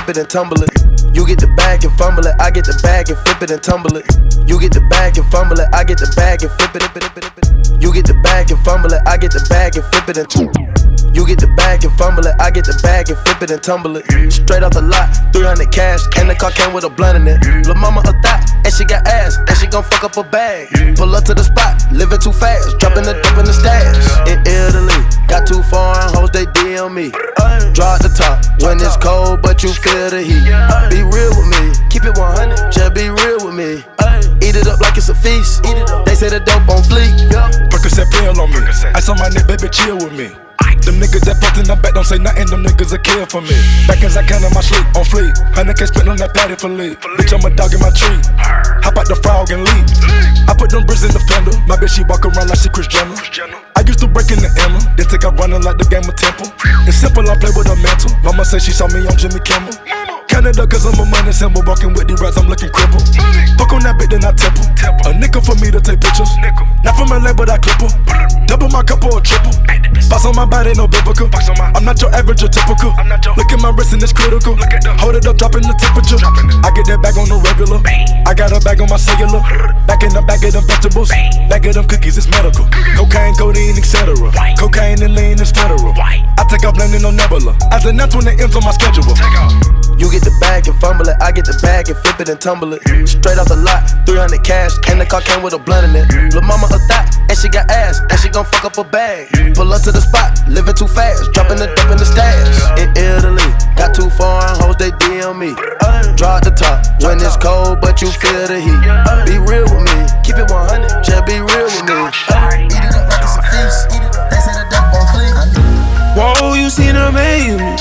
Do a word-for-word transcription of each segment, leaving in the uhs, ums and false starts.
flip it and tumble it. You get the bag and fumble it, I get the bag and flip it and tumble it. You get the bag and fumble it, I get the bag and flip it. You get the bag and fumble it, I get the bag and flip it and tumble it. You get the bag and fumble it, I get the bag and flip it and tumble it. Straight off the lot, three hundred cash, and the car came with a blunt in it. Lil' mama a thot, and she got ass, and she gon' fuck up a bag. Pull up to the spot, living too fast, dropping the dope in the stash. In Italy, got two foreign hoes, they D M me. Draw at the top, when it's cold, but you feel the heat. Be real with me, keep it one hundred, just be real with me. Eat it up like it's a feast, they say the dope on fleek. Percocet pill on me, ice on my neck, baby, chill with me. Them niggas that put in the back don't say nothing, them niggas a kill for me. Back as I count on my sleep, on fleek. Hundred K spent on that patty for leave. Bitch, I'm a dog in my tree. Hop out the frog and leap. I put them bricks in the fender. My bitch, she walk around like she Kris Jenner. I used to break in the Emma, then take out running like the game of Temple. It's simple, I play with a mantle. Mama say she saw me on Jimmy Kimmel. Canada, cause I'm a money symbol. Walking with these rats, I'm looking crippled. Fuck on that bitch, then I temple. A nickel for me to take pictures. Not from L A, but I clip her. Double my cup or a triple. Boss on my body, no biblical. I'm not your average or typical. Look at my wrist and it's critical. Hold it up, dropping the temperature. I get that bag on the regular. I got a bag on my cellular. Back in the bag of them vegetables. Back of them cookies, it's medical. Cocaine, codeine, et cetera. Cocaine and lean is federal. I take off landing on Nebula. As an F when it ends on my schedule. You get the bag and fumble it, I get the bag and flip it and tumble it. Straight off the lot, three hundred cash, and the car came with a blunt in it. Lil' mama a thot, and she got ass, and she gon' fuck up a bag. Pull up to the spot, living too fast, dropping the dope in the stash. In Italy, got two foreign hoes, they D M me. Draw at the top, when it's cold, but you feel the heat. Be real with me, keep it one hundred, just be real with me. Eat it up like it's a feast, they say the dope on fleek. Whoa, you seen her amaze me.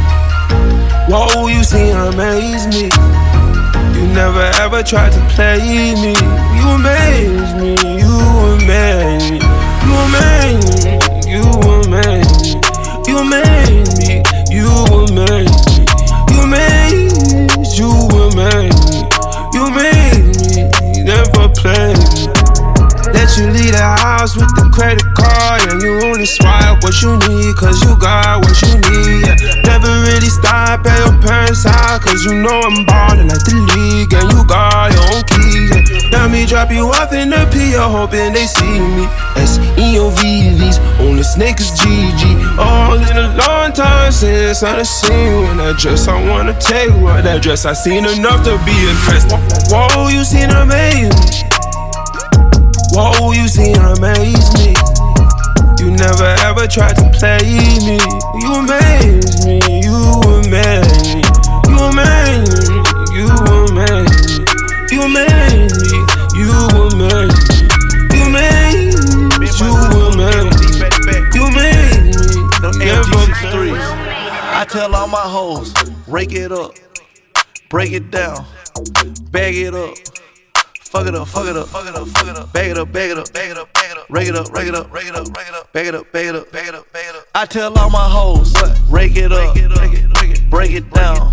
Whoa, you seen her amaze me. You never ever tried to play me. You amaze me, you amaze me. You amaze me, you amaze me. You amaze me, you amaze me. You amaze, you amaze me. You amaze me, never play me. Let you leave the house with the credit card, and you only swipe what you need, cause you got what you need. Yeah. Never really stop at your parents' house, cause you know I'm ballin' like the league, and you got your own keys. Yeah. Now me drop you off in the P O, hoping they see me. S E O V V's, only snake is G G. Oh, it's been a long time since I done seen you in that dress. I wanna take what that dress, I seen enough to be impressed. Whoa, you seen her amaze me. Whoa, you seen her amaze me. You never ever tried to play me. You amaze me, you amaze me. You amaze me, you amaze me. You amaze me, you amaze me. You amaze me, you amaze me. You amaze me, never. I tell all my hoes, rake it up, break it down, bag it up. Fuck it up, fuck it up, fuck it up, fuck it up. Bag it up, bag it up, bag it up, bag it up. Rake it up, rake it up, rake it up, rake it up. Bag it up, bag it up, bag it up, bag it up. I tell all my hoes, rake it up, break it down,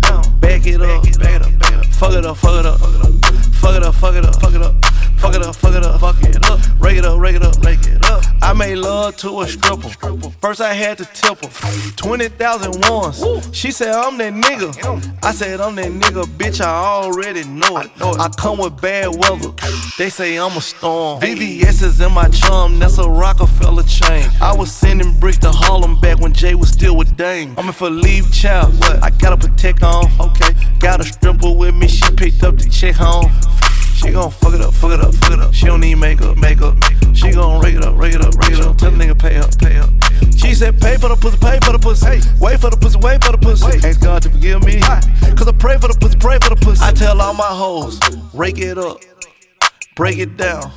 bag it up, bag it up, bag it up. Fuck it up, fuck it up, fuck it up, fuck it up, fuck it up, fuck it up, fuck it up, fuck it up. Rake it up, rake it up, rake it up. I made love to a stripper. First I had to tip her twenty thousand once. She said I'm that nigga. I said I'm that nigga, bitch. I already know it. I come with bad weather. They say I'm a storm. V V S is in my chum. That's a Rockefeller chain. I was sending bricks to Harlem back when Jay was still with Dame. I'm in for leave child. What? I got a protect on. Okay. Got a stripper with me. She picked up the check home. She gon' fuck it up, fuck it up, fuck it up. She don't need makeup, makeup. She gon' rake it up, rake it up, rake it up. Tell the nigga pay up, pay up. She said pay for the pussy, pay for the pussy. Wait for the pussy, wait for the pussy. Ask God to forgive me, cause I pray for the pussy, pray for the pussy. I tell all my hoes, rake it up, break it down,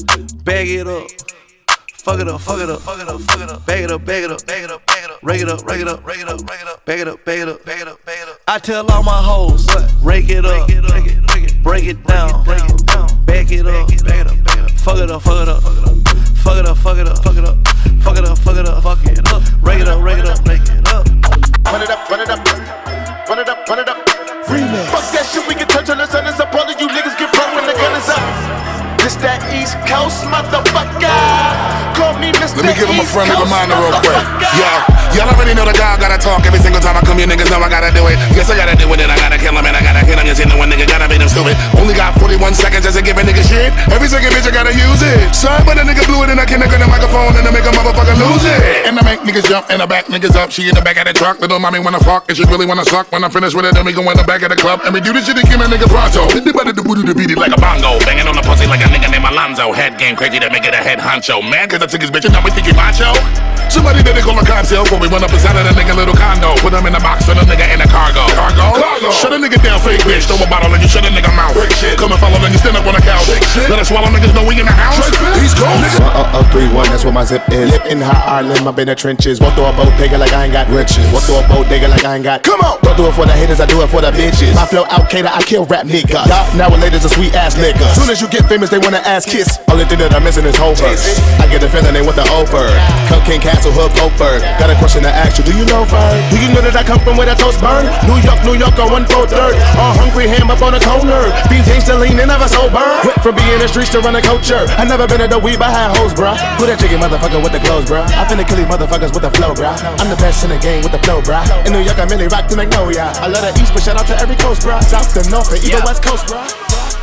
bag it up. Fuck it up, fuck it up, fuck it up, fuck it up. Bag it up, bag it up, bag it up, bag it up. Rake it up, rake it up, rake it up, rake it up. Bag it up, bag it up, bag it up, bag it up. I tell all my hoes, rake it up, break it down, bag it up, bag it up, bag it up. Fuck it up, fuck it up, fuck it up, fuck it up, fuck it up, fuck it up, fuck it up, fuck it up. Rake it up, rake it up, rake it up. Run it up, run it up, run it up, run it up. Remix. Fuck that shit, we can touch on the sun. It's a part of you niggas get broke when the gun is up. This that East Coast motherfucker. Call me Mister Let me give him a East friendly Coast reminder real quick. motherfucker. Yeah, y'all already know the guy gotta talk every single time I come. You niggas know I gotta do it. Yes, I gotta do it, and I gotta kill him, and I gotta hit him. You see, no one nigga gotta be them stupid. Only got forty-one seconds just to give a nigga shit. Every second bitch I gotta use it. Sorry, but a nigga blew it, and I can't get the microphone, and I make a motherfucker lose it. And I make niggas jump, and I back niggas up. She in the back of the truck. Little mommy wanna fuck, and she really wanna suck. When I'm finished with it, then we go in the back of the club, and we do this shit again, a nigga pronto. Hit the button, the booty, the beat it like a bongo. Banging on the pussy like a nigga named Alonzo. Head game crazy to make it a head honcho. Man, cause I took his bitch, and now we think he macho. Somebody that they call a cocktail before we run up inside of the nigga little condo. Put him in the box, and the nigga in the cargo. Cargo? Cargo. Shut a nigga down, fake bitch. Throw a bottle and you shut a nigga mouth. Come and follow, then you stand up on the couch. Let us swallow niggas know we in the house. East Coast. one oh three one, that's where my zip is. Live in hot Ireland, I've been in the trenches. Walk through a bodega like I ain't got riches. Walk through a bodega like I ain't got. Come on! Don't do it for the haters, I do it for the bitches. My flow out cater, I kill rap niggas. Y'all nowadays a sweet ass nigga. Soon as you get famous, they wanna ass kiss. Only thing that I'm missing is whole verse. I get the feeling they want the over. Cocaine Castle, Hook, Oakford. Got a question to ask you, do you know Fern? Do you know that I come from where the toast burn? New York, New York on one four third. All hungry ham up on the corner. These things to lean and never sober. Went from being in the streets to run a culture. I never been at the weed, but I had hoes, bruh. Who that chicken motherfucker with the clothes, bruh? I finna kill these motherfuckers with the flow, bruh. I'm the best in the game with the flow, bruh. In New York, I merely rock to Magnolia. I love the East, but shout out to every coast, bruh. South, the North, and even Yeah. West Coast, bruh.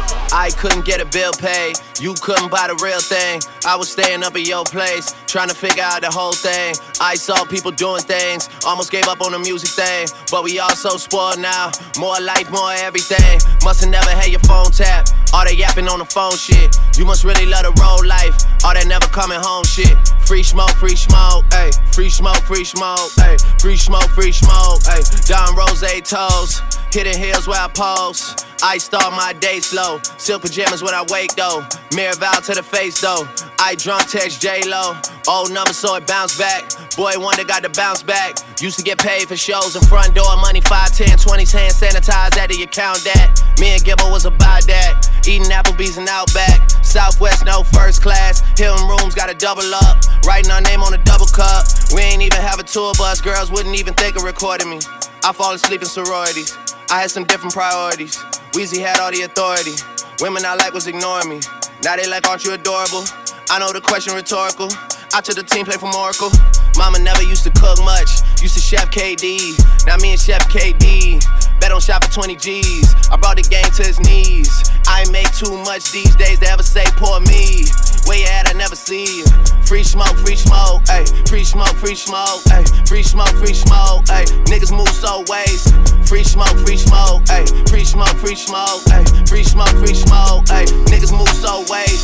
I couldn't get a bill paid, you couldn't buy the real thing. I was staying up at your place, trying to figure out the whole thing. I saw people doing things, almost gave up on the music thing. But we all so spoiled now, more life, more everything. Must've never had your phone tapped, all that yapping on the phone shit. You must really love the road life, all that never coming home shit. Free smoke, free smoke, ayy. Free smoke, free smoke, ayy. Free smoke, free smoke, ayy. Don Rose toes, hitting hills where I pose. I start my day slow, silk pajamas when I wake though. Mirror vow to the face though. I drunk text J-Lo, old number so it bounce back. Boy wonder got to bounce back. Used to get paid for shows in front door, money five, ten, twenties, hand sanitized after you count that. Me and Gibbo was about that, eating Applebee's and Outback. Southwest no first class, Hilton rooms gotta double up. Writing our name on a double cup. We ain't even have a tour bus, girls wouldn't even think of recording me. I fall asleep in sororities, I had some different priorities. Weezy had all the authority, women I like was ignoring me. Now they like, aren't you adorable? I know the question rhetorical. I took the team play from Oracle. Mama never used to cook much, used to Chef K D. Now me and Chef K D bet on shop for twenty G's. I brought the game to his knees. I ain't make too much these days to ever say poor me. Where you at, I never see you. Free smoke, free smoke, ayy. Free smoke, free smoke, ayy. Free smoke, free smoke, ayy. Niggas move so ways. Free smoke, free smoke, ayy. Free smoke, free smoke, ayy. Free smoke, free smoke, ayy. Niggas move so ways.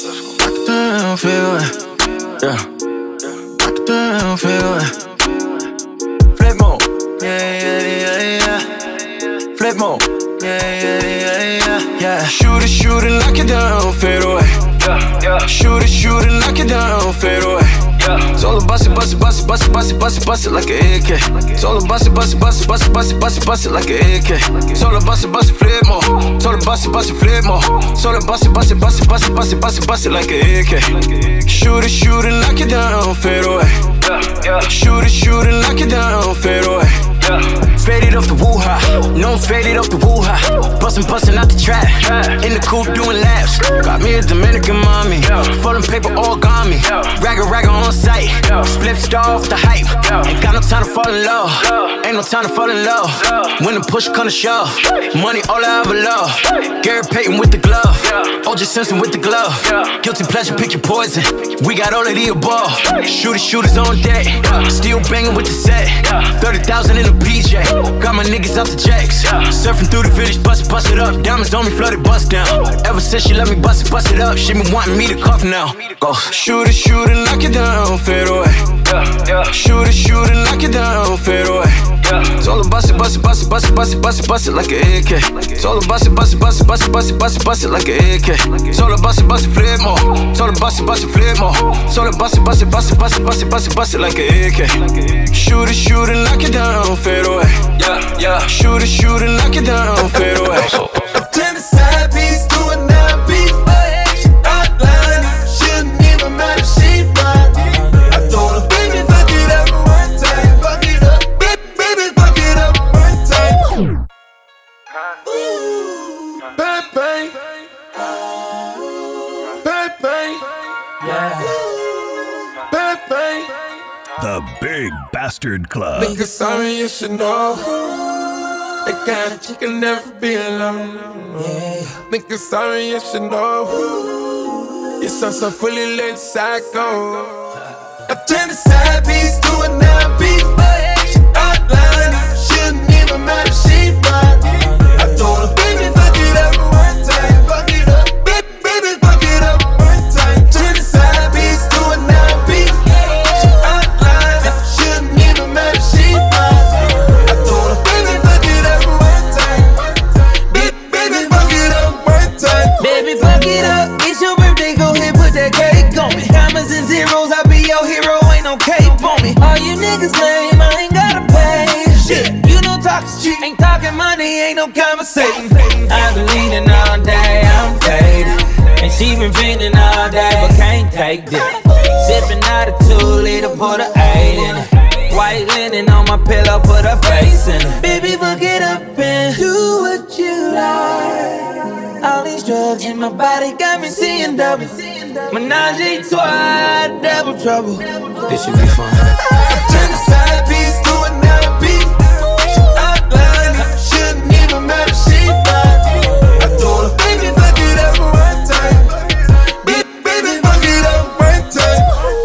I don't feel it, yeah. I don't feel it. Flip mode, yeah, yeah, yeah, yeah. Flip mode, yeah, yeah, yeah, yeah, yeah. Shoot it, shoot it, knock it down, fade away. Yeah, yeah. Shoot it, shoot it, knock it down, fade away. Yeah. It's all about it, bust it, bust it, bust it, bust it, bust it, bust it like an A K. It's all about it, bust it, bust it, bust it, bust it, bust it, bust it like an A K. It's all about it, bust it, flip more. It's all about it, bust it, flip more. It's all about it, bust it, bust it, bust it, bust it, bust it, bust it like an A K. Shoot it, shoot it, knock it down, fade away. Yeah, yeah. Shoot it, shoot it, knock it down, fade away. Yeah. Faded off the woo-ha, no I'm faded off the woo-ha. Bustin', bustin' out the trap, in the coupe doing laps. Got me a Dominican mommy, folding paper origami. Ragga ragga on sight, split star off the hype. Ain't got no time to fall in love, ain't no time to fall in love. When the push come to shove, money all I ever love. Gary Payton with the glove, O J Simpson with the glove. Guilty pleasure, pick your poison. We got all of the above. Shooters, shooters on deck, still banging with the set. Thirty thousand in the P J, got my niggas out the jacks. Surfing through the village, bust it, bust it up. Diamonds on me, flooded, bust down. Ever since she let me bust it, bust it up, she been wanting me to cuff now. Go. Shoot it, shoot it, knock it down, fade away. Shoot it, shoot it, knock it down, fade away. It's all about it, bust it, bust it, bust it, bust it, bust it, bust it like an A K. It's all about it, bust it, bust it, bust it, bust it, bust it, bust it like an A K. It's all about it, bust it, flip more. It's all about it, bust it, flip more. It's all about it, bust it, bust it, bust it, bust it, bust it, bust it like an A K. Shoot it, shoot it, knock it down, fade away. Yeah, yeah. Shoot it, shoot it, knock it down, fade away. Turn the side piece to a nine piece. She outline, shouldn't even matter if she fine. I told her, baby, fuck it up one time. Fuck it up, baby, baby, fuck it up one time. Ooh, bang, bang. The Big Bastard Club. Nigga, sorry, you should know. That kind of chick can never be alone. Yeah. Nigga, sorry, you should know. You're so, so fully lit psycho. I turn the side piece to a nine piece. She outline it, shouldn't even matter, she mine. I told her, baby, fuck it up one time. Fuck it up, baby, baby, fuck it up one time. Turn the side piece to a nine piece. She outline it, shouldn't even matter, she mine. I told her, baby, fuck it up one time. Baby, baby, fuck it up one time. Baby, fuck it up, it's your birthday, go ahead, put that cake on me. Commas and zeros, I be your hero, ain't no cape on me. All you niggas lame, I ain't gotta pay. Shit, you know talk shit, ain't talking money, ain't no conversation. I've been leaning all day, I'm faded. And she been feeling all day, but can't take this. Sipping out a two liter, put a eight in it. White linen on my pillow, put her face in it. Baby, fuck it up and do what you like. All these drugs in my body got me seeing double. Menage a trois, double trouble. This should be fun. Turn the side piece to a nine piece. She outline it, shouldn't even matter, she mine. I told her, Baby, fuck it up one time. Baby, baby, fuck it up one time.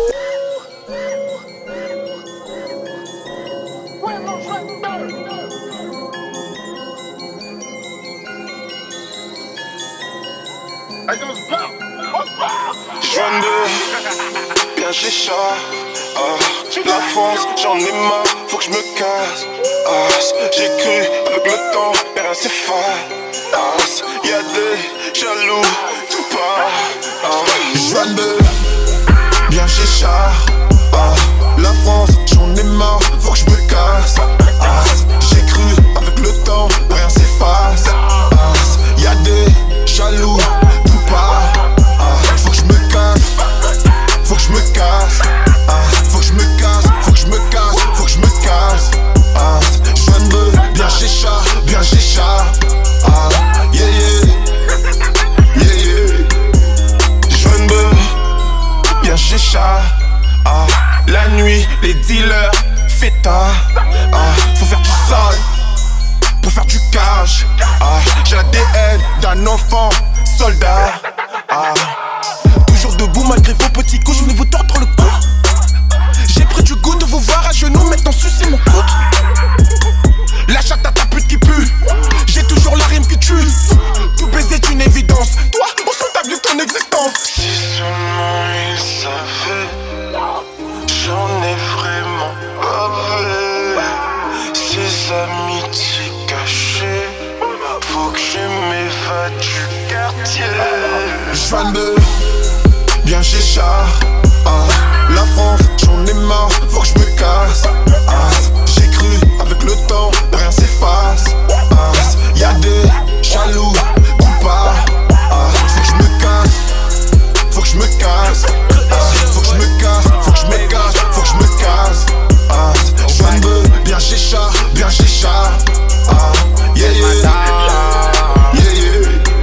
J'vendais bien chicha, ah, la France, j'en ai marre, faut que je me casse. Ah, j'ai cru avec le temps, mais rien c'est fade. Ah, y'a des jaloux, tout part. Ah, j'vendais bien chicha, ah, la France, j'en ai marre, faut que je me casse. Ah, j'ai cru avec le temps, mais rien s'efface. Ah, y'a des jaloux, tout part. Faut que je me casse, faut que je me casse, ah, faut que je me casse, faut que je me casse, faut que je me casse, ah, je viens de me bien chicha, bien chicha, ah, yeah yeah, yeah yeah, je viens de me bien chicha, ah, la nuit, les dealers, feta, ah, faut faire du sale, pour faire du cash, ah, j'ai l'A D N d'un enfant soldat, ah. Debout malgré vos petits coups, je venais vous tordre le cou. J'ai pris du goût de vous voir à genoux, maintenant sucer mon coude. La chatte à ta pute qui pue, j'ai toujours la rime qui tue. Tout baiser est une évidence, toi, on s'en t'a vu ton existence. Si seulement il savait, j'en ai vraiment bavé. Ces amitiés cachées, faut que je m'évade du quartier. J'viens de bien chicha, ah, la France, j'en ai marre, faut que je me casse, ah, j'ai cru avec le temps, rien s'efface, ah, y'a des jaloux, ou pas, ah, faut que je me casse, faut que je me casse, ah, faut que je me casse, faut que je me casse, faut que je me casse, ah, je viens de bien chicha, bien chicha, ah, yeah yeah, yeah yeah,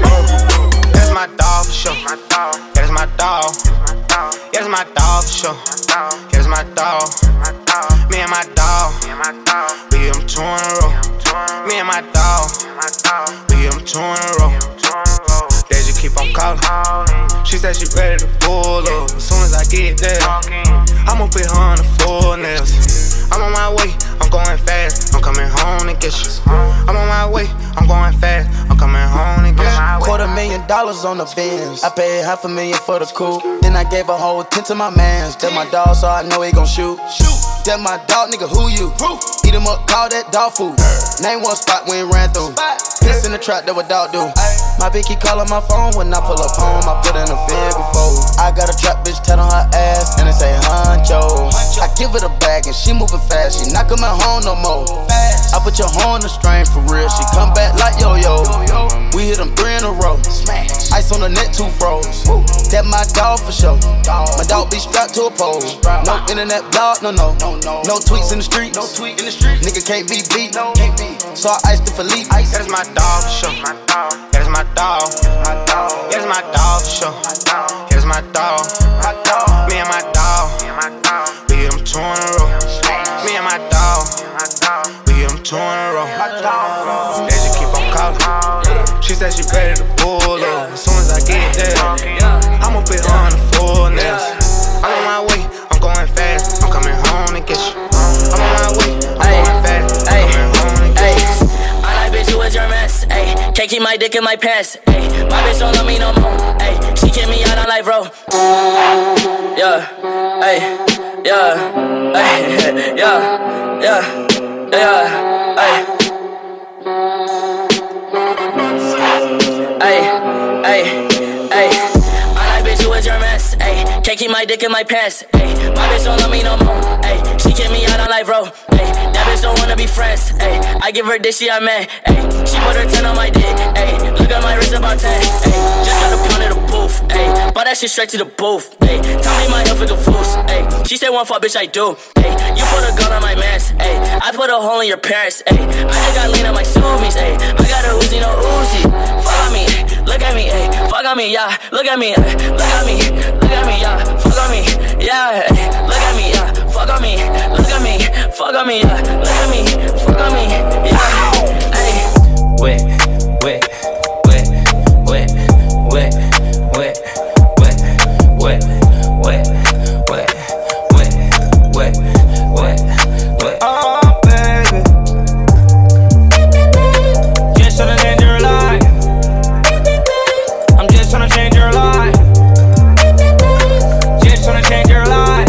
that's my dog for sure. That's my dog. That's my dog for sure. That's my dog. Me and my dog. We get them two in a row. Me and my dog. We get them two in a row. They just keep on calling. She said she ready to pull up. As soon as I get there, I'ma put her on the full nails. I'm on my way, I'm going fast. I'm coming home to get you. I'm on my way, I'm going fast. I'm coming home to get you. Quarter million dollars on the Benz. I paid half a million for the coupe. Then I gave a whole ten to my mans. That my dog, so I know he gon' shoot. Shoot. That my dog, nigga, who you? Eat him up, call that dog food. Name one spot we ain't ran through. Piss in the trap, that what dog do. My bitch keep calling my phone when I pull up home. I put in a fed before. I got a trap bitch tat on her ass and it say honcho. I give her the bag and she moving fast. She not coming home no more. I put your horn on the string for real. She come back like yo-yo. We hit them three in a row. Ice on the net, two froze. That my dog for sure. My dog be strapped to a pole. No internet blog, no no. No tweets in the street. No tweet in the street. Nigga can't be beat. So I iced the Philippe. That's my dog for sure. That's my dog. That's my dog for sure. That's my dog. Me and my dog. We get them two in a row. get you. I'm on my way, I'm going fast. Ay, ay, I like bitch who is your mess. Ay, can't keep my dick in my pants. Ay, my bitch don't love me no more. Ay, she kick me out on life, bro. Yeah, ay, yeah, ay, yeah, yeah, yeah, ay. Ay, ay, ay. I like bitch who is your mess. Ay, can't keep my dick in my pants. Ay, my bitch don't love me no more. Ay, she kick me out on life, bro. Ay, that bitch don't wanna be friends. Ay, I give her dick, she a man. Ay, she put her ten on my dick. Ay, look at my wrist about ten. Ay, just got a pound of the booth. Ay, bought that shit straight to the booth. Ay, tell me my health is a fool's. Ay, she said one fuck, bitch, I do. Ay, you put a gun on my mans. Ay, I put a hole in your parents. Ay, I just got lean on my zoomies. Ay, I got a Uzi, no Uzi. Fuck on me, look at me. Ay, fuck on me, yeah. Look at me, ay, look at me, look at me, yeah. Fuck on me, yeah. Ay, look at me, yeah. Fuck on me, look at me, fuck on me, yeah. Look at me, fuck on me, yeah. Ay. Wet, wet, wet, wet, wet, wet, wet, wet, wet, wet, wet, wet, wet, wet. Oh, baby, just tryna change your life. I'm just tryna change your life. Just tryna change your life.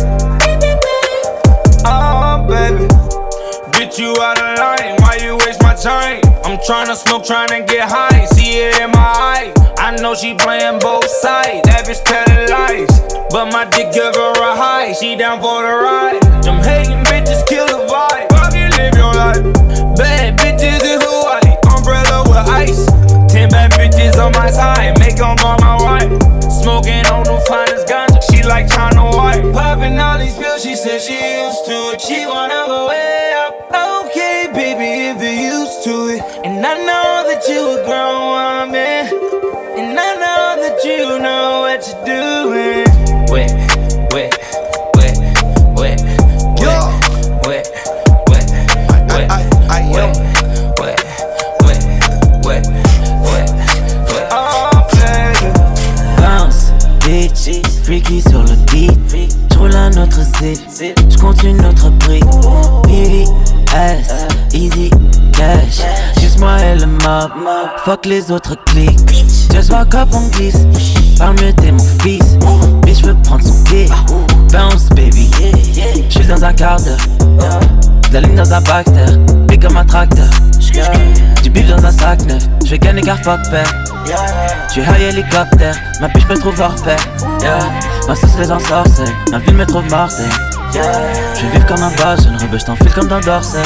Oh, baby, get you out of line. Why you waste my time? I'm tryna smoke, tryna get high. See it in my eye. I know she playing both sides. That bitch telling lies, but my dick give her a high. She down for the ride. Them hating bitches kill the vibe. Fucking live your life. Bad bitches in Hawaii, umbrella with ice. Ten bad bitches on my side, make them on my wife. Smoking on the finest ganja, she like China White. Popping all these pills, she said she used to it. She wanna go way up. Okay, baby, if you're used to it. And I know that you a grown woman. And I know that you know what you're doing. Wet, wet, wet, wet, wet, wet, wet, wet, I, I, I wet, wet, wet, wet, wet, wet. Oh, baby. Bounce, bitch, freaky sur le beat. J'roule un autre zip, j'compte une autre brique. B V S, easy cash. Juste moi et le mob, fuck les autres clics. Just walk up, on glisse. Parle mieux, t'es mon fils. Bitch, j'veux prendre son pied. Bounce, baby. J'suis dans un quart d'heure. De la ligne dans un Baxter. Big comme un tracteur. Du bif dans un sac neuf. J'vais gagner car fuck père. J'suis high hélicoptère. Ma bitch me trouve hors pair. Ma sauce les ensorcelle. Ma ville me trouve mortelle. J'vais vivre comme un boss. Jeune rebeu, j't'enfile comme dans Dorsey.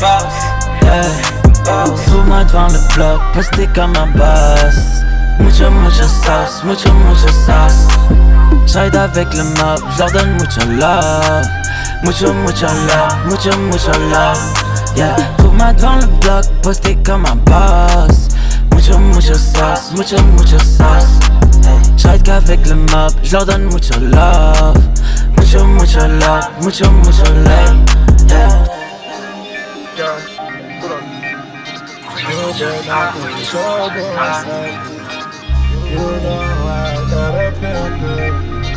Trouve-moi devant le bloc. Posté comme un boss. Mucho, mucho sauce, mucho, mucho sauce. J'ride avec le mob, j'leur donne mucho love. Mucho, mucho love, mucho, mucho love. Yeah, trouve-moi devant le bloc, posté comme un boss. Mucho, mucho sauce, mucho, mucho sauce. J'ride qu'avec le mob, j'leur donne mucho love. Mucho, mucho love, mucho, mucho love. Yeah. You know I got a pimp it.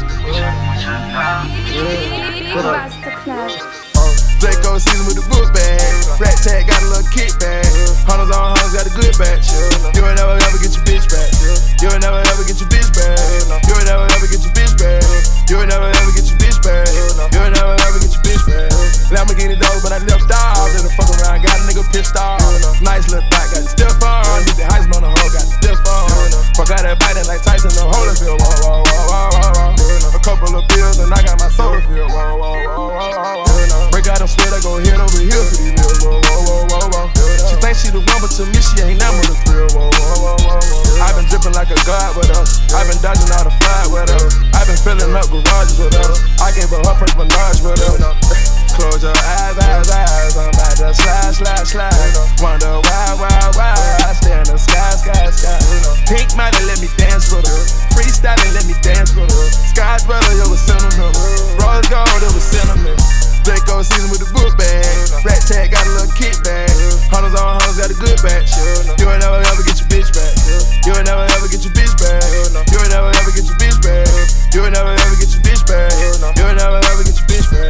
Draco season with the book bag. Rat tag got a little kickback. Hunters on hunters got a good batch. You ain't never ever get your bitch back. You ain't never ever get your bitch back. You ain't never ever get your bitch back. You ain't never ever get your bitch back. You ain't never ever get your bitch back. Lamborghini dog, but I left style. Then the fuck around, got a nigga pissed off. Nice little thot, got the stiff on. Did the Heisman on the hoe, got the stiff on. Fuck out that biting like Tyson, the Holyfield. Whoa, whoa, whoa, whoa, whoa. A couple of pills and I got my soda filled. Whoa, whoa, whoa, whoa, whoa. Break out them split, I go hit over here for these bills. Whoa, whoa, whoa, whoa, whoa. She thinks she the one, but to me she ain't never the thrill. Whoa, whoa, whoa, whoa, whoa. I've been dripping like a god with us. I've been dodging all the fly with us. I've been filling up garages with us. I gave her her first menage with us. Close your eyes, eyes, eyes. I'm about to slide, slide, slide. Wonder why, why, why. I stay in the sky, sky, sky. Pink money, let me dance with her. Freestyling, let me dance with her. Sky's brother, it was sentimental. Rose gold, it was cinnamon. Draco season with the book bag. Rat tag got a little kickback. Hunters on hunters got a good batch. You ain't never ever get your bitch back. You ain't never ever get your bitch back. You ain't never ever get your bitch back. You ain't never ever get your bitch back. You ain't never ever get your bitch back.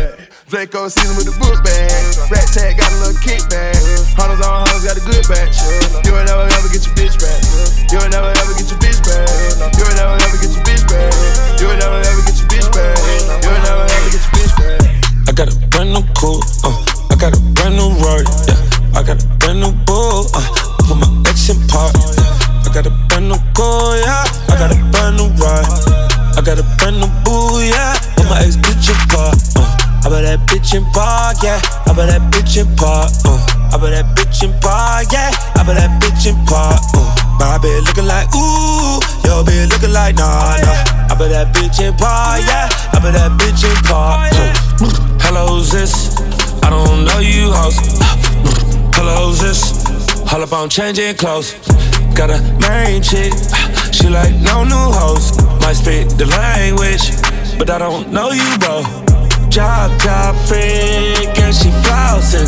Draco season with the book bag. Rat tag got a little kickback. Hunters on hunters got a good batch. You will never ever get your bitch back. You will never ever get your bitch back. You will never ever get your bitch back. You will never ever get your bitch back. You will never ever get your bitch back. I got a brand new coupe, uh, I got a brand new Rory, yeah. I got a brand new bull, uh, put my ex in park, yeah. I got a brand new car, yeah. I got a brand new ride. I got a brand new boo, yeah. Put my ex bitch in park, uh. I bet that bitch in park, yeah. I bet that bitch in park, uh. I bet that bitch in park, yeah. I bet that bitch in park, uh. My bitch looking like ooh, your bitch looking like nah, nah. I bet that bitch in park, yeah. I bet that bitch in park, uh. Hello, who's this? I don't know you, hoes. Hello, who's this? All up on changing clothes. Got a main chick, she like no new hoes. Might speak the language, but I don't know you, bro. Job, job freak, and she flossing.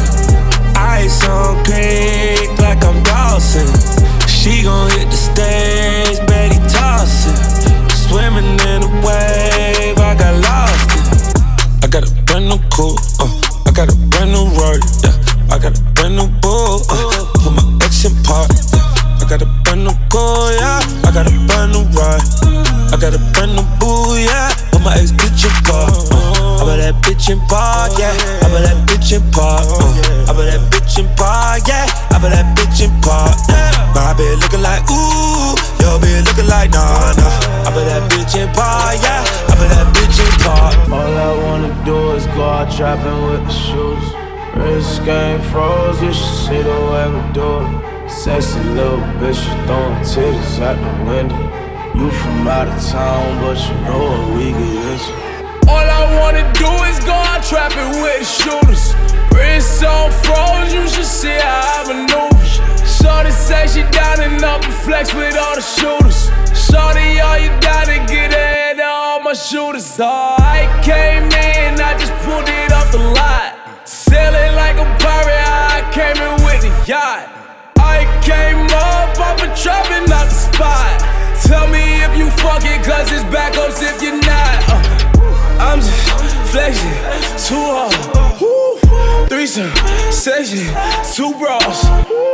Ice on creek like I'm Dawson. She gon' hit the stage, Betty tossing. Swimming in a wave, I got lost in. I got a brand new coupe, uh, I got a brand new Rory, yeah. I got a brand new bull, uh, put my ex in park, yeah. I got a brand new car, yeah. I got a brand new ride. I got a brand new boo, yeah. Put my ex bitch in park, uh, I bet that bitch in park, yeah. I bet that bitch in park, uh, I bet that bitch in park, yeah. I bet that bitch in park, yeah. My bitch looking like ooh, your bitch looking like nah, nah. I bet that bitch in park, yeah. I bet that bitch in park. All I wanna do is go out trapping with the shoes. Wrist game froze, you should see the way we do it. Sexy little bitch, you throwing titties out the window. You from out of town, but you know what we get into. All I wanna do is go out trapping with the shooters. Wrist on froze, you should see how I maneuver. Shorty say she down and up and flex with all the shooters. Shorty, all you gotta get ahead of all my shooters. Oh, I came in, I just pulled it off the lot. Sailing like a pirate, I came in with the yacht. I came up off a trapping out the spot. Tell me if you fuck it, cause it's backups if you're not. uh, I'm just flexing, too hard. Woo. Threesome, section, two bras.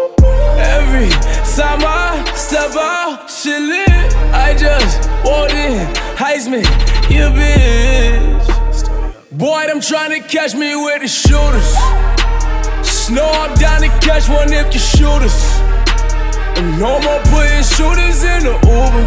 Every time I step out, shit lit. I just walked in, Heisman, you bitch. Boy, them tryna catch me with the shooters. Snow I'm down to catch one if you shoot us. And no more putting shooters in the Uber.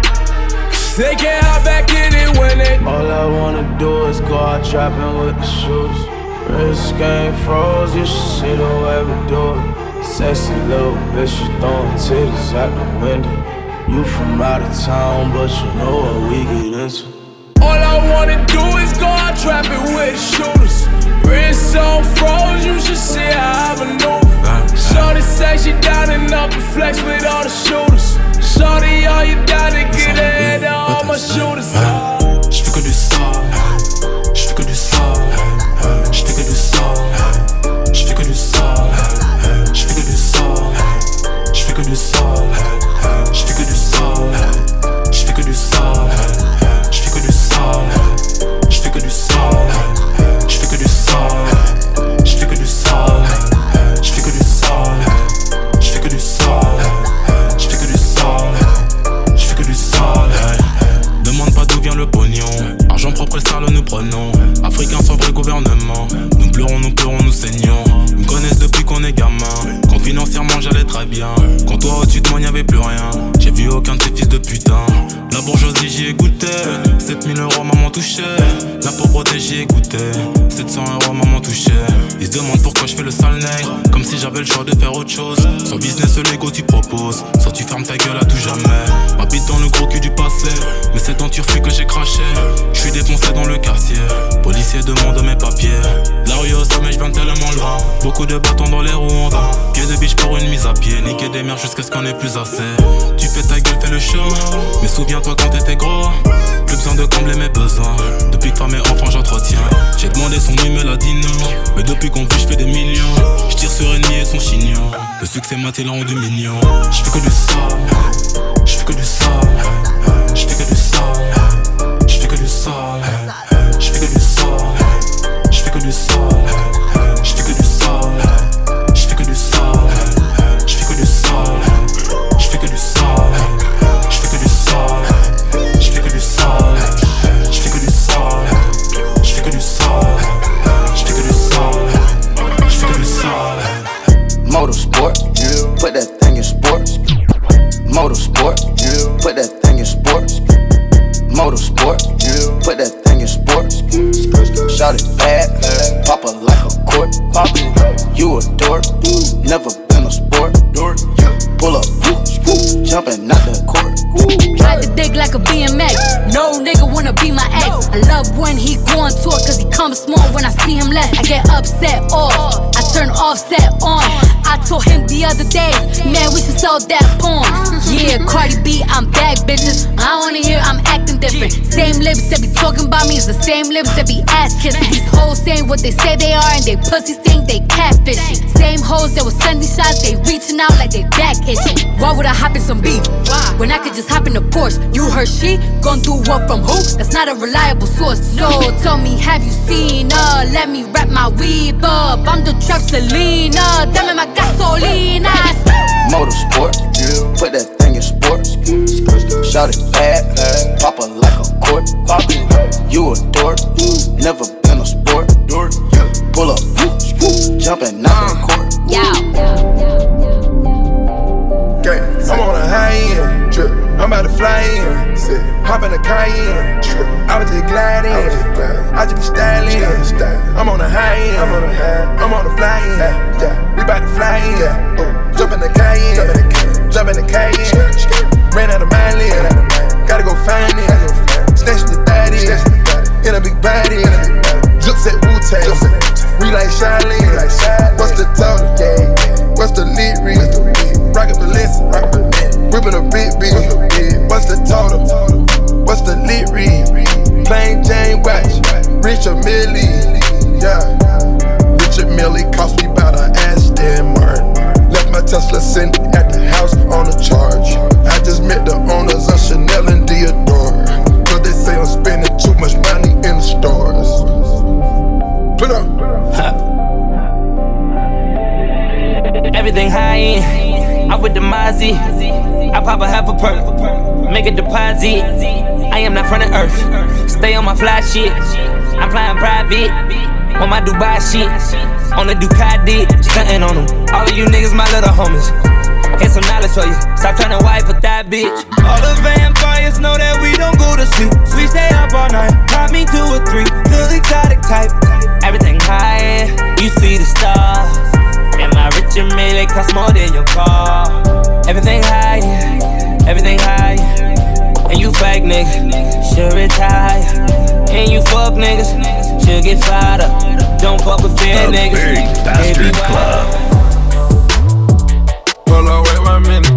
They can't hop back in it when they. All I wanna do is go out trapping with the shoes. Wrist game froze, you should see the way we do it. Sexy little bitch, you throwing titties out the window. You from out of town, but you know what we get into. All I wanna do is go out trapping with the shooters. Wrist on froze, you should see how I maneuver. Shorty say she down and up and flex with all the shooters. Shorty, all you gotta get ahead of all my shooters. J'fais que du sale, j'fais que du sale, j'fais que du sale, j'fais que du sale, j'fais que du sale, j'fais que du sale, j'fais que du sale, j'fais que du sale, j'fais que du sale, j'fais que du sale, j'fais que du sale, j'fais que du sale, j'fais que du sale, j'fais que du sale, j'fais que du sale, j'fais que du sale. Demande pas d'où vient le pognon. Argent propre et sale nous prenons. Africains sans vrai gouvernement. Nous pleurons, nous pleurons, nous saignons. Ils me connaissent depuis qu'on est gamin. Quand financièrement j'allais très bien. Quand toi au-dessus de moi y'avait plus rien. J'ai vu aucun de ces fils de putain. La bourgeoisie j'y ai goûté. sept mille euros maman touchait. La pauvreté j'y ai goûté. sept cents euros maman touchait. Ils se demandent pourquoi je fais le sale nègre. Comme si j'avais le choix de faire autre chose. Soit business Lego tu proposes. Soit tu fermes ta gueule à tout jamais. M'habite dans le gros cul du passé. Mais c'est dans Turfu que j'ai craché. Je suis défoncé dans le quartier. Policier demande mes papiers. La rue au sommet je viens tellement loin. Beaucoup de bâtons dans les roues on va. Pied de biche pour une mise à pied. Niquer des mères jusqu'à ce qu'on ait plus assez. Tu fais ta gueule, fais le show. Mais souviens-toi quand t'étais gros. Plus besoin de combler mes besoins. Depuis que femme et enfant j'entretiens. J'ai demandé son numéro, elle a dit non. Mais depuis qu'on vit je fais des millions. Je tire sur ennemi et son chignon. Le succès m'a l'a rendu mignon. Je fais que du sale. Je fais que du sale. Je fais que du sale. Je fais que du sale. Je fais que du sale. Je fais que du sale. bad, pop her like a court. You a dork, never been a sport. Pull up, jumping out the court. Ride the dick like a B M X. No nigga wanna be my ex. I love when he go on tour, cause he comes small when I see him less. I get upset off, I turn offset on. I told him the other day, man, we should sell that porn. Yeah, Cardi B, I'm back, bitches. I wanna hear I'm acting different. Same lips that be talking about me is the same lips that be ass kissing. These hoes saying what they say they are and they pussies think they catfishing. Same hoes that was sending shots, they reaching out like they back itching. Why would I hop in some beef when I could just hop in the Porsche? You heard she gon' do what from who? That's not a reliable source. So tell me, have you seen her? Let me wrap my weave up. I'm the trap Selena, dame my gasolina. Motorsport, put that thing in sports. Shout it bad, pop her like a court. You a dork, never been a sport. Pull up, jumping out the court. Okay, I'm on a high end, trip. I'm about to fly in, hop in a Cayenne, trip. I was just gliding, I just be styling. I'm on a high end, I'm on a high, I'm on a fly in. We about to fly in, jump in the Cayenne, jump in the Cayenne. Ran out of my lane, gotta go find it. Snatch the thirty, in a big body. Jukes at Wu-Tang, we like Charlene. What's the total? What's the lead read? Rockin' Balenciaga, whippin' a big beat. What's the total? What's the lead read? Plain Jane watch, Richard Millie. Yeah, Richard Millie cost me about an Aston Martin. Left my Tesla sitting at the house on a charge. I just met the owners of Chanel and Dior. Cause they say I'm spending too much money in the stores. Put up. Everything high end, I'm with the Mozzie. I pop a half a perk, make a deposit. I am not from the earth, stay on my fly shit. I'm flying private, on my Dubai shit. On the Ducati, stuntin' on them. All of you niggas my little homies. Here's some knowledge for you, stop trying to wipe with that bitch. All the vampires know that we don't go to sleep. We stay up all night, pop me two or three. Good exotic type, everything high end, you see the stars. And my Richard Mille cost more than your car. Everything high, everything high. And you fake niggas, should retire. And you fuck niggas, should get fired up. Don't fuck with fair niggas. Big Bastard Club. Hold on, wait one minute.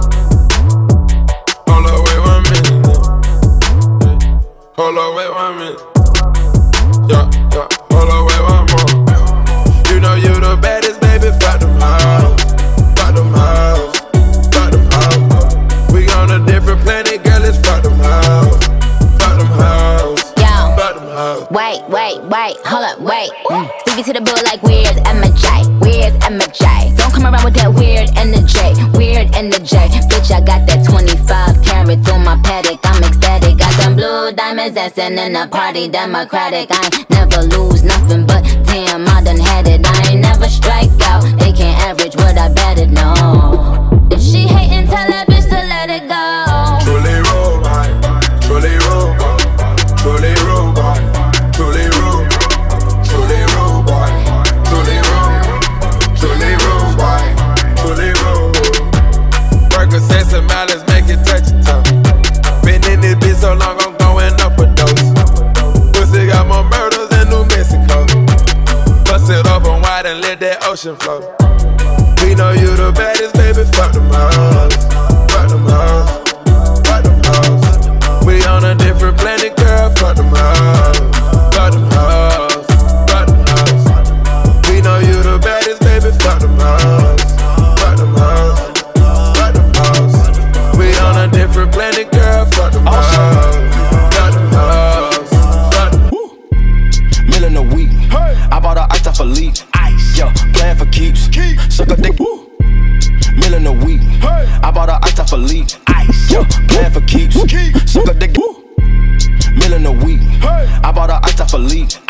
Hold on, wait one minute. Hold on, wait one minute. Yeah, yeah. Hold on, wait one more. You know you the baddest. Fuck them hoes, fuck them hoes, fuck them hoes. We on a different planet, girl, let's fuck them hoes, fuck them hoes, fuck them hoes. Wait, wait, wait, hold up, wait. Mm. Stevie to the bull like where's Emma J, where's Emma J? Don't come around with that weird energy, weird energy. Bitch, I got that twenty-five carat through my paddock, I'm ecstatic. Got them blue diamonds dancing in the party, democratic. I ain't never lose nothing, but damn, I done had it. I ain't never strike out, they can't average what I betted, no. If she hatin', tell that bitch to let it go. Truly robot, truly robot, truly robot, truly robot, truly robot, truly robot, truly robot, truly robot. Percocets and mileage make it touch your toe. Been in this bitch so long, I'm going up a dose. Pussy got more murders in New Mexico. Bust it open wide and let that ocean flow. We know you the baddest, baby, fuck them hoes. Fuck them hoes, fuck them hoes. We on a different planet, girl, fuck them hoes. Fuck them hoes, fuck them hoes. We know you the baddest, baby, fuck them hoes. Fuck them hoes, fuck them hoes. We on a different planet, girl, fuck them hoes. Fuck them hoes, fuck them hoes. Million a week, I bought her ice off a leak. Ice, yo, playing for keeps. Suck a dick. Million a week, I bought her ice off a leak. Ice, yo, playing for keeps. Suck a dick. Million a week, I bought her ice off a leak. Ice,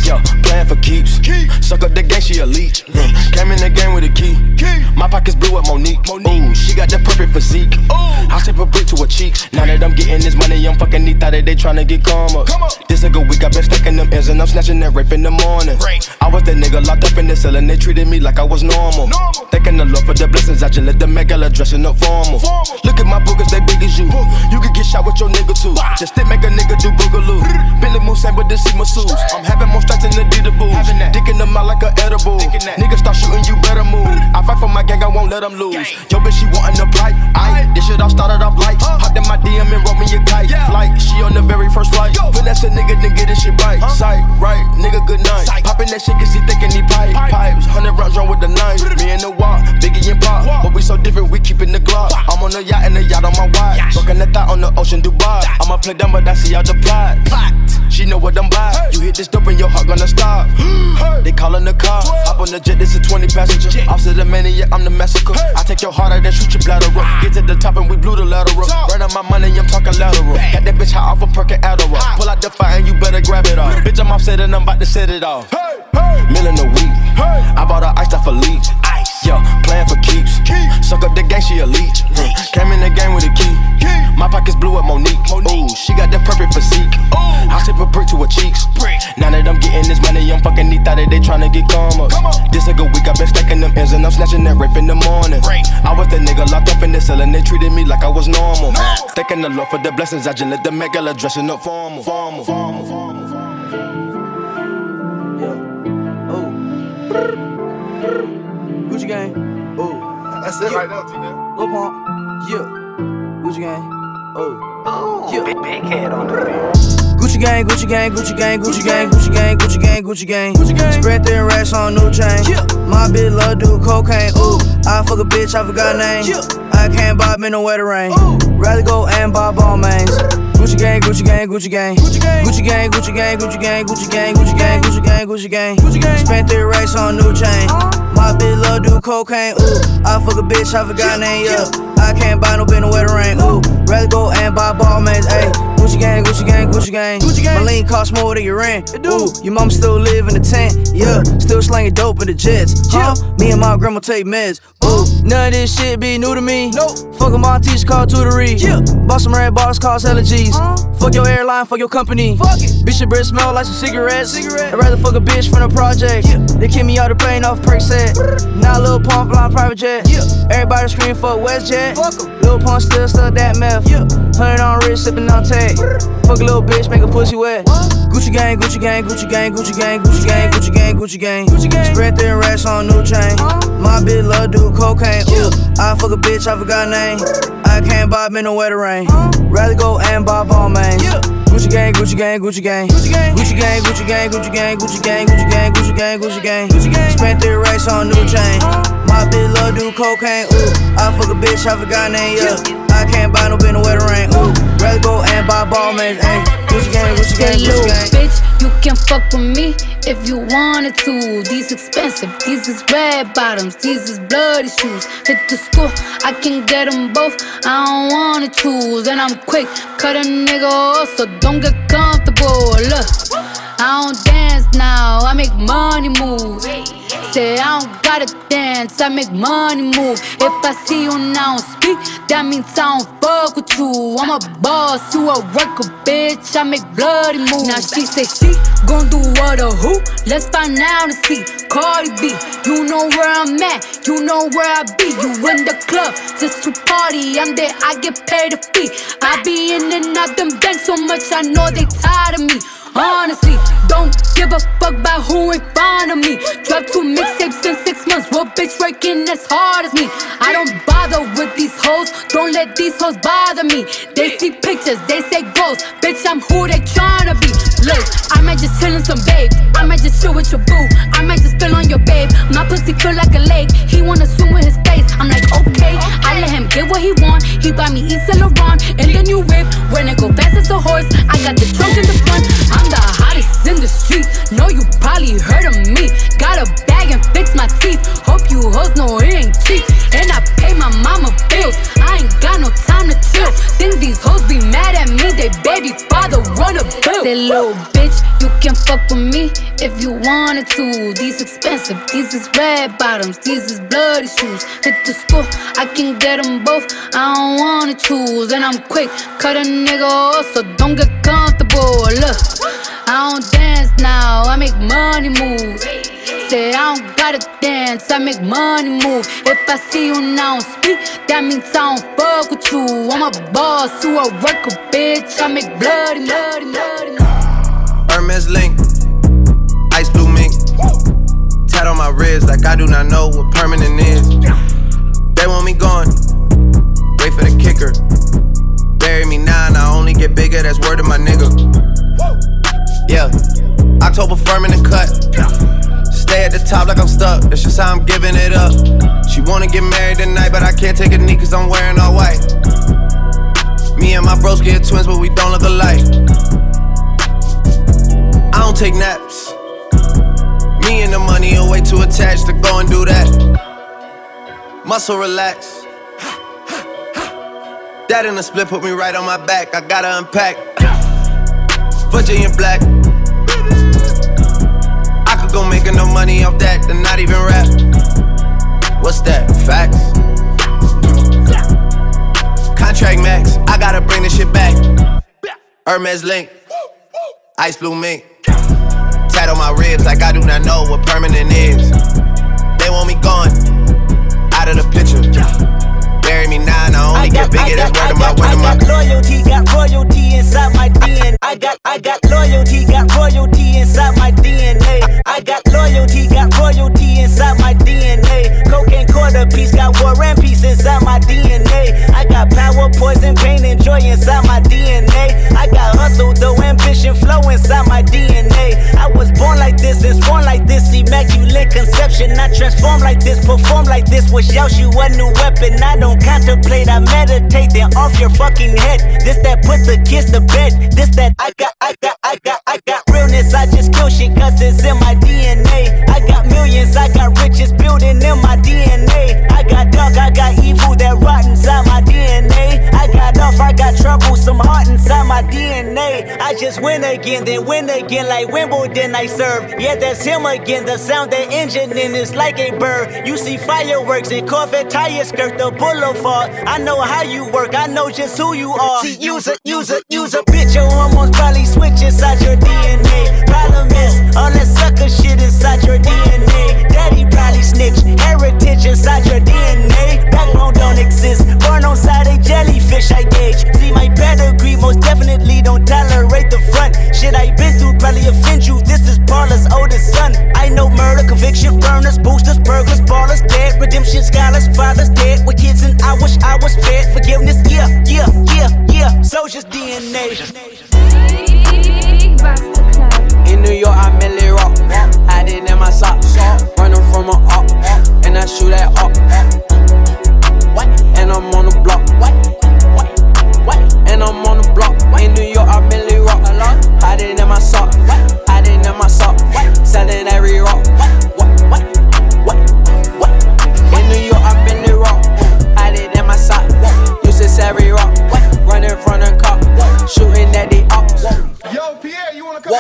Yo, playing for keeps. Suck up the game, she a leech. Came in the game with a key. My pockets blue with Monique. Ooh, she got the perfect physique. I'll tip a brick to her cheeks. Now that I'm getting this money, I'm fucking neat. Thought that they tryna get karma. This a good week, I been stacking them ends and I'm snatching that rape in the morning. I was that nigga locked up in the cell and they treated me like I was normal. Thanking the Lord for the blessings, I just let the megala dressing up formal. Look at my boogers, they big as you. You could get shot with your nigga too. Just to make a nigga do boogaloo. Billy Moose ain't but this is masseuse. I'm having more strikes than the Dita booze. Dicking them out like a edible. Niggas start shooting, you better move. I fight for my gang, I won't let them lose. Yo, bitch, she wantin' the pipe. Aight, this shit all started off light. Hopped in my D M and wrote me a kite. Flight, she on the very first flight. Finesse a nigga, then get this shit right. Sight, right, nigga, good night. Poppin' that shit cause he thinkin' he pipe. Pipes, hundred rounds run with the knife. Me and the walk, Biggie and Pop. But we so different, we keepin' the Glock. I'm on the yacht and the yacht on my watch. Fucking the thought on the ocean, Dubai. I'ma play dumb, but I see out the plot. She know what I'm by. You hit this dope and your heart gonna stop. They callin' the car. Hop on the jet, this is twenty passenger. Officer the maniac, I'm the massacre. I take your heart out and shoot your bladder up. Get to the top and we blew the lateral. Right on my money, I'm talking lateral. Got that bitch high off a perk and Adderall. Pull out the fire and you better grab it off. Bitch, I'm offset and I'm about to set it off. Million a week. I bought her ice off a leech. Yo, playing for keeps. Suck up the gang, she a leech. Came in the game with a key. My pockets blue with Monique. Ooh, she got the perfect physique. I'll tip a brick to her cheeks. Now that I'm getting this money, I'm fucking neat. Thought that they tryna get karma. This a good week, I been stacking them ends and I'm snatching that rape in the morning. I was that nigga locked up in the cell and they treated me like I was normal. Thanking the Lord for the blessings, I just let the megala dressing up formal. Formal, formal, formal, formal. Gucci gang, oh. That's it right now, T-Nip. Lil Pump, yeah. Gucci gang, oh. Yeah. Big, big head on the beat. Gucci gang, Gucci gang, Gucci gang, Gucci gang, Gucci gang, Gucci gang, Gucci gang. Gucci gang. Spread thin racks on new chain. Yeah. My bitch love do cocaine. Ooh, I fuck a bitch, I forgot name. Yeah. I can't buy me no wetter rain. Ooh. Rather go and buy ball mains. Gucci gang, Gucci gang, Gucci gang, Gucci gang, Gucci gang, Gucci gang, Gucci gang, Gucci gang, Gucci gang, Gucci gang, Gucci gang, Gucci gang. Spent three racks on new chain. My bitch love do cocaine. Ooh, I fuck a bitch, I forgot name. Yeah, I can't buy no bitch no wetter rain. Ooh, rather go and buy ball mains. Ayy, Gucci gang, Gucci gang, Gucci gang, Gucci gang. My lean cost more than your rent. Ooh, your mom still live in the tent. Yeah, still slanging dope in the jets. Huh? Me and my grandma take meds. Ooh, none of this shit be new to me. Nope. Fuck with my teacher called tutory. Yeah. Bought some red bottles, cost hella G's. Uh, fuck your airline, fuck your company. Fuck it. Bitch, your breath smell like some cigarettes. Cigarette. I'd rather fuck a bitch from the project. Yeah. They kick me out the plane off perk set. Now Lil Pump flying private jet. Yeah. Everybody scream fuck WestJet. Fuck em. Lil Pump still stuck that meth. Yeah. Hundred on wrist, sippin' on tag. Fuck a little bitch, make a pussy wet. What? Gucci gang, Gucci gang, Gucci gang, Gucci gang, Gucci gang, Gucci gang, Gucci gang, Gucci gang. Spread thin racks on new chain. My bitch love do cocaine. Ooh, I fuck a bitch, I forgot name. I can't buy me no wetter rain. Rather go and buy ball mains. Gucci gang, Gucci gang, Gucci gang, Gucci gang, Gucci gang, Gucci gang, Gucci gang, Gucci gang, Gucci gang, Gucci gang, Gucci gang, Gucci gang. Spent three racks on new chain. My bitch love do cocaine. Ooh, I fuck a bitch, I forgot name. Yeah, I can't buy no bitch no wetter rain. Ooh, rather go and buy ball mains. Ayy, Gucci gang, Gucci gang, Gucci gang. Bitch, you can fuck with me if you wanted to. These expensive, these is red bottoms, these is bloody shoes. Hit the school, I can get them both. I don't wanna choose, and I'm quick, cut a nigga off, so don't get comfortable. Look, I don't dance now, I make money move. Say I don't gotta dance, I make money move. If I see you now speak, that means I don't fuck with you. I'm a boss, you a worker, bitch, I make bloody moves. Now she say she gon' do what or who? Let's find out and see. Cardi B, you know where I'm at, you know where I be. You in the club just to party, I'm there, I get paid a fee. I be in and out them banks so much, I know they tired of me. Honestly, don't give a fuck about who ain't fond of me. Dropped two mixtapes in six months. What bitch working as hard as me? I don't bother with these hoes. Don't let these hoes bother me. They see pictures, they say ghosts. Bitch, I'm who they tryna be. Look, I might just chill in some babe. I might just chill with your boo. I might just spill on your babe. My pussy feel like a lake. He wanna swim with his face. I'm like, okay. I let him get what he want. He buy me East Saint Laurent and the new whip. When it go fast as a horse, I got the trunk in the front. I'm the hottest in the street. Know you probably heard of me. Got a bag and fix my teeth. Hope you hoes know it ain't cheap. And I pay my mama bills. I ain't got no time to chill. Think these hoes be mad at me. They baby father run a bill. Say little bitch, you can fuck with me if you wanted to. These expensive, these is red bottoms, these is bloody shoes. Hit the school, I can get them both, I don't wanna choose. And I'm quick, cut a nigga off, so don't get comfortable. Look, I don't dance now, I make money move. Say I don't gotta dance, I make money move. If I see you now and speak, that means I don't fuck with you. I'm a boss, you a worker, bitch. I make bloody, bloody, bloody. Hermes link, ice blue mink. Tat on my wrist like I do not know what permanent is. They want me gone, wait for the kicker. Bury me now and I only get bigger, that's word of my nigga. Yeah, October firm in the cut. Stay at the top like I'm stuck, that's just how I'm giving it up. She wanna get married tonight, but I can't take a knee cause I'm wearing all white. Me and my bros get twins, but we don't look alike. I don't take naps. Me and the money are way too attached to go and do that. Muscle relax. That in the split put me right on my back, I gotta unpack. Virginia black. Go make enough money off that, then not even rap. What's that? Facts? Contract max, I gotta bring this shit back. Hermes link, ice blue mink. Tat on my ribs like I do not know what permanent is. They want me gone, out of the picture. Bury me now and I only get bigger, that's word of my, word of my. I got loyalty, got royalty inside my D N A. I got, I got loyalty, got royalty inside my D N A. I got loyalty, got royalty inside my D N A. Cocaine quarter piece, got war and peace inside my D N A. I got power, poison, pain, and joy inside my D N A. I got hustle, though, ambition, flow inside my D N A. I was born like this and born like this, immaculate conception. I transform like this, perform like this, was Yaoshu a new weapon. I don't contemplate, I meditate, then off your fucking head. This that put the kids to bed. This that I got, I got, I got, I got realness. I just kill shit cause it's in my D N A. I got millions, I got riches building in my D N A. I got dark, I got evil that rot inside my D N A. I got off, I got trouble, some heart inside my D N A. I just win again, then win again like Wimbledon I serve. Yeah, that's him again, the sound that engine in is like a bird. You see fireworks and Corvette tires skirt the boulevard. I know how you work, I know just who you are. See, use a, use a, use a bitch, your hormones probably switch inside your D N A. Problem is, all that sucker shit inside your D N A. Daddy probably snitch, heritage inside your D N A. Backbone don't exist, born on side a jellyfish I gauge. See my pedigree, most definitely don't tolerate the front. Shit I been through probably offend you, this is Paula's oldest son. I know murder, conviction, burners, boosters, burglars, ballers, dead. Redemption, scholars, fathers, dead. With kids and I wish I was fed. Forgiveness, yeah, yeah, yeah, yeah. Soldier's D N A. In New York, I merely rock. Hiding in my socks. Running from a up. And I shoot at up. And I'm on the block. And I'm on the block. In New York, I merely rock. Hiding in my sock. Hiding in my sock. Selling every rock. In New York, I merely rock. Hiding in my sock. Used to every rock. Running from the cop. Shooting at the ops. Yo, Pierre, you wanna come?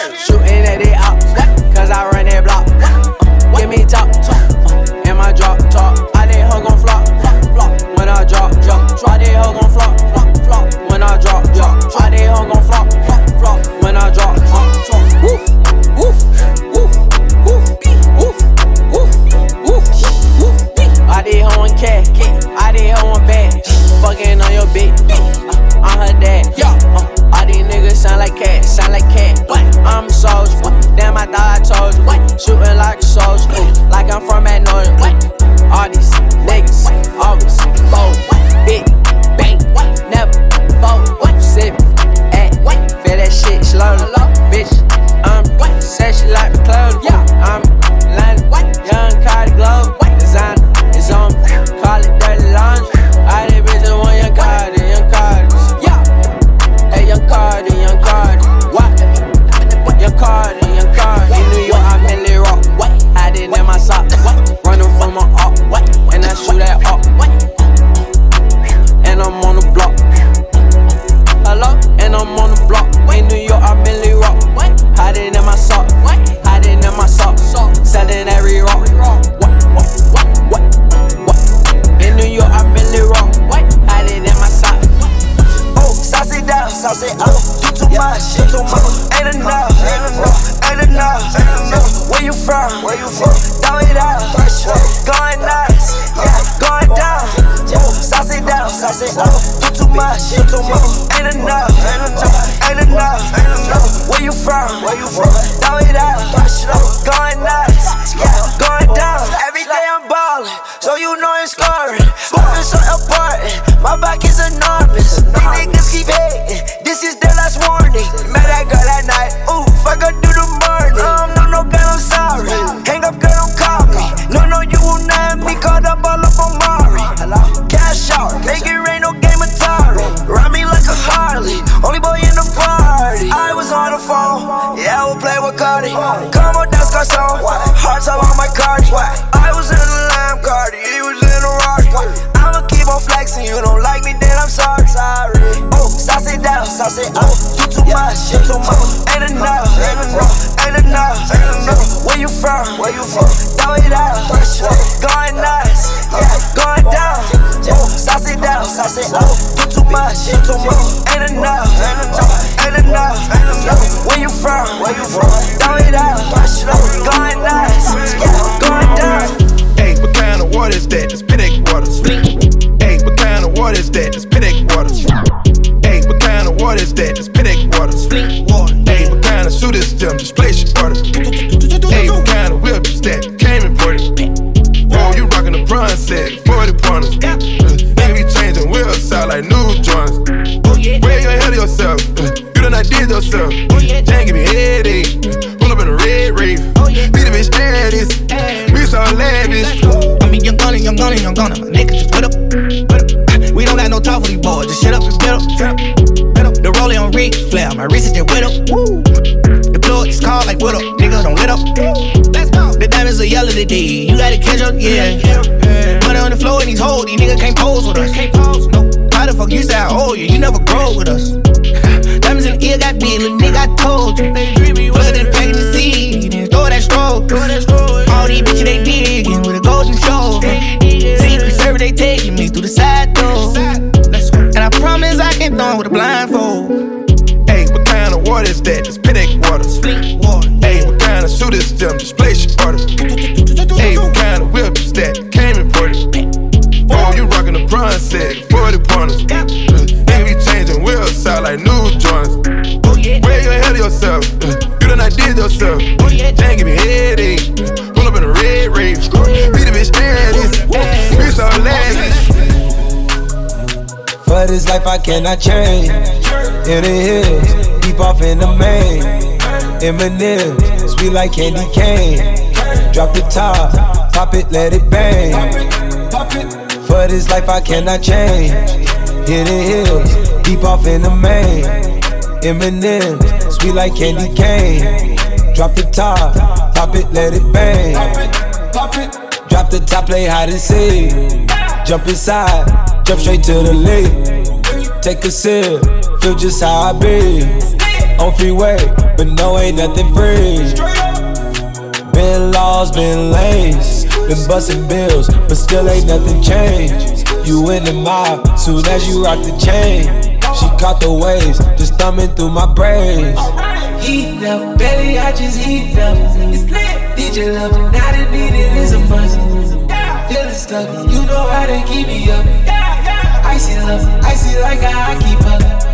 Where you from? Throw it out. Going nuts. Yeah, going down. Sauce it down. Sauce it up. Do too much. Do too much. Ain't enough. Ain't enough. Ain't enough. Ain't enough. Where you from? Where you from? Throw it out. Going nuts. Yeah, going down. Every day I'm ballin', so you know it's scoring. Moving so important. My back is enormous. These niggas keep hating. This is their last warning. Met that girl at night. Ooh, fuck her through the morning. Um, no, no, girl, I'm sorry. Hang up, girl, don't call me. No, no, you will not have me caught up all up on Mari. Cash out, make it rain, no game Atari. Ride me like a Harley, only boy in the party. I was on the phone, yeah, I would play with Cardi. Come on, that's got song. Hearts all on my cards. I was in the Lamb Cardi, he was in the Rock. I'ma keep on flexing, you don't like me, then I'm sorry. Sorry. Oh, sauce it down, sauce it up. Do too much, do too much. Ain't enough, ain't enough, ain't enough, ain't enough. Where you from? Where you from? Throw it out. Going nuts, yeah, going down. Oh, sauce it down, sauce it up. Do too much, do too much. Ain't enough, ain't enough, ain't enough, ain't enough. Where you from? Where you from? Throw it out. Going nuts, yeah, going down. Hey, what kind of water is that? It's Piddock water. Hey, what kind of water is that? It's Piddock water. Hey, what kind of water is that? It's Piddock water. Hey, what kind of suit is them? Just place your order. Hey, what kind of whip is that? Came imported. Oh, you rockin' the bronze set, forty pointers. Uh, nigga be changing wheels out like new joints. Where you ahead of yourself? Uh, you done not did yourself. Can't give me headache. Pull up in a red rave. Be the bitch status. We so lavish. I mean, young gunna, young gunna, young gunna. My niggas just put up, put up. We don't got no time for these boys. Just shut up and get up. The rollie on Ric Flair, my wrist is just wet up. The plug is called like what up, nigga, don't let up. Let's go. The diamonds are yellow today, you gotta catch up, yeah. Money on the floor in these hoes, these niggas can't pose with us. No, how the fuck you say I owe you? You never grow with us. Diamonds in the ear got big, little nigga, I told you. Flood in the pack in the seed, then throw that stroke. All these bitches they digging with a golden show. Secret service they taking me through the side door. And I promise I can throw with a blindfold. Hey, what kind of water is that? It's Piddock water. Hey, what kind of suit is them? Just place your order. Hey, what kind of whip is that? Came imported. Oh, you rockin' the bronze set, forty pointers. Uh, nigga be changing wheels out like new joints. Where you ahead of yourself? Uh, you done not did yourself. Can't give me headache. Pull up in a red rave. Be the bitch status. We so lavish. For this life I cannot change. In the hills, deep off in the main. Eminem, sweet like candy cane. Drop the top, pop it, let it bang. For this life I cannot change. In the hills, deep off in the main. Eminem, sweet like candy cane. Drop the top, pop it, let it bang. Drop the top, play hide and seek. Jump inside. Jump straight to the lake. Take a sip, feel just how I be. On freeway, but no, ain't nothing free. Been lost, been lanes. Been bustin' bills, but still ain't nothing changed. You in the mob, soon as you rock the chain. She caught the waves, just thumbing through my braids. Heat up, baby, I just heat up. It's lit. Need your love, and not a need it is a must. Feeling stuck, you know how to keep me up. Icy love, icy like how I keep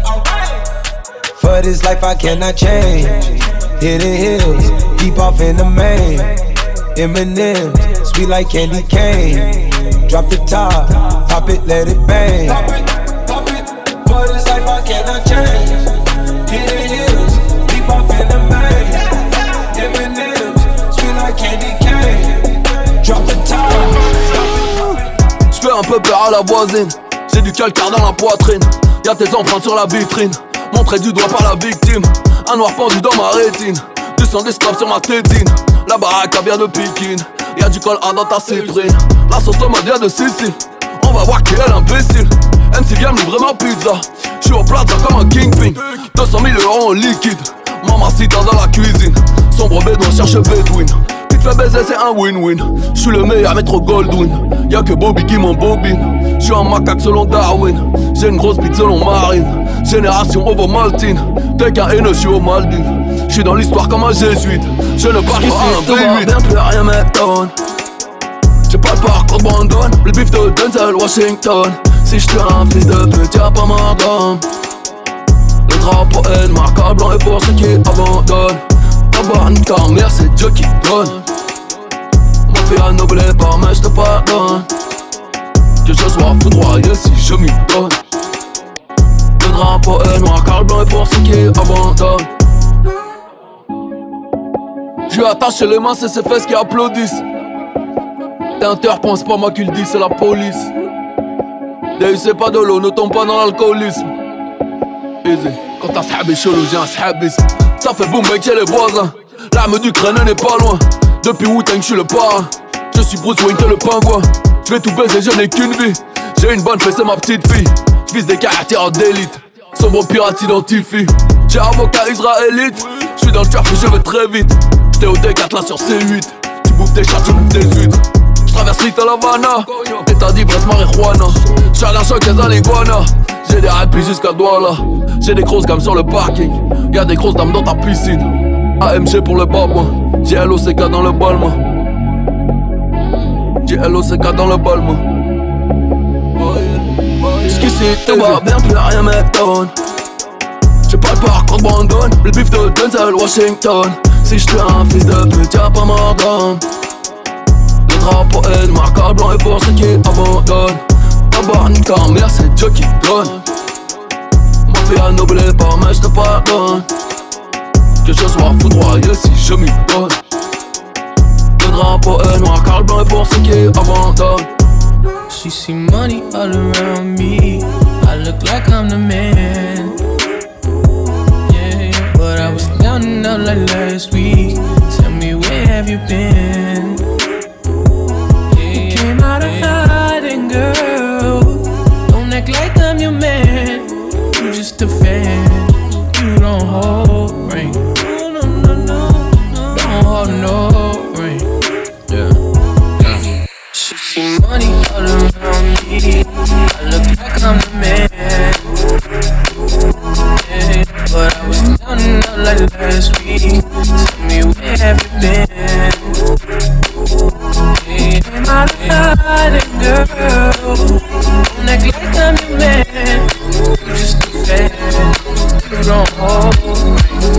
up. For this life I cannot change. Hidden hills, deep off in the main. Eminem, sweet like candy cane. Drop the top, pop it, let it bang. Pop it, pop it. For this life I cannot change. Hidden hills, deep off in the main. Eminem, sweet like candy cane. Drop the top. J'fais un peu peur à la voisine. J'ai du calcaire dans la poitrine. Y'a tes empreintes sur la vitrine. Montré du doigt par la victime. Un noir pendu dans ma rétine. Du sang d'esclave sur ma tétine. La baraque a bien de Pékin. Y'a du col A dans ta cyprine. La sauce tomate vient de Sicile. On va voir qui est l'imbécile. M C vient me livrer ma pizza. J'suis au plaza comme un kingpin. deux cent mille euros en liquide. Mamacita dans la cuisine. Sombre bédouin cherche Bedouin. Vite fait baiser c'est un win-win. J'suis le meilleur métro Goldwyn. Y'a que Bobby qui m'embobine. J'suis un macaque selon Darwin. J'ai une grosse bite selon Marine. Génération Ovomaltine. T'es qu'un haineux, j'suis aux Maldives. J'suis dans l'histoire comme un jésuite. Je ne parle pas un tout va bien, plus rien m'étonne. J'ai pas le parcours de Brandon, le bif de Denzel Washington. Si j'tue un fils de pute, y'a pas ma gomme. Le drapeau est marquable blanc et pour ceux qui abandonnent. D'abord nique ta mère, c'est Dieu qui donne. Ma fille a noblé par mais j'te pardonne. Que je sois foudroyé si je m'y donne. Le drapeau est noir car le blanc est pour ceux qui abandonnent. J'lui attaché les mains, c'est ses fesses qui applaudissent. T'interprends, c'est pas moi qui le dis, c'est la police. D U c'est pas de l'eau, ne tombe pas dans l'alcoolisme. Easy, quand t'as s'habé chelou, j'ai un s'habisme. Ça fait boum mec, j'ai les voisins. L'arme d'Ukraine n'est pas loin. Depuis Wu-Tang, j'suis le parrain. Je suis Bruce Wayne, t'es le pingouin. J'vais tout baiser, je n'ai qu'une vie. J'ai une bonne fesse, c'est ma petite fille. J'vise des caractères d'élite. Sombre pirate s'identifie. J'ai avocat israélite. J'suis dans le trafic, je vais très vite. J'étais au D quatre là sur C huit. Tu bouffes des chats, je bouffe des huîtres. J'traverse Little Havana. État d'ivresse, marijuana. J'suis à la choc des aliguanas. J'ai des réplis jusqu'à Douala. J'ai des grosses gammes sur le parking. Y'a des grosses dames dans ta piscine. A M G pour le babouin. J'ai L O C K dans le balma. J'ai L O C K dans le balma. Jusqu'ici tout va bien, plus rien m'étonne. J'ai pas le parcours de Brandon, le bif de Denzel Washington. Si j'tue un fils de pute, y'a pas mort d'homme. Le drapeau est marquable blanc et pour ceux qui abandonnent. D'abord nique ta mère, c'est Dieu qui donne. Ma fille a noblé par mais j'te pardonne. Que je sois foudroyé si je m'y donne. Le drapeau est noir car le blanc est pour ceux qui abandonnent. She see money all around me. I look like I'm the man. Yeah, but I was down and out like last week. Tell me where have you been? You came out of hiding, girl. Don't act like I'm your man. You just a fan. You don't hold ring. No, no, no, no. Don't hold no ring. Yeah. She see money all around me. I look like I'm the man. Yeah, but I was down and out like last week. Tell me where have you been? Yeah, came out of hiding, girl. Don't act like I'm your man. You just a fan. You don't hold me.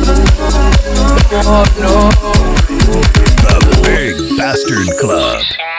Don't hold no. The Big Bastard Club.